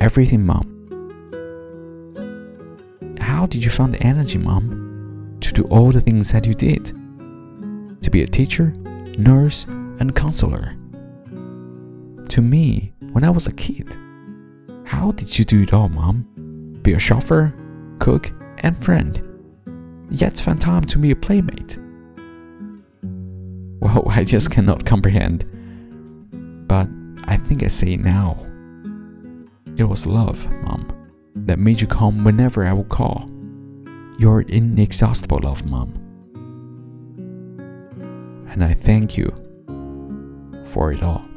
everything, Mom. How did you find the energy, Mom, to do all the things that you did? To be a teacher, nurse, and counselor. To me, when I was a kid, how did you do it all, Mom? Be a chauffeur, cook, and friend, yet find time to be a playmate. Well, I just cannot comprehend. But I think I say it now. It was love, Mom, that made you come whenever I would call. Your inexhaustible love, Mom. And I thank you for it all.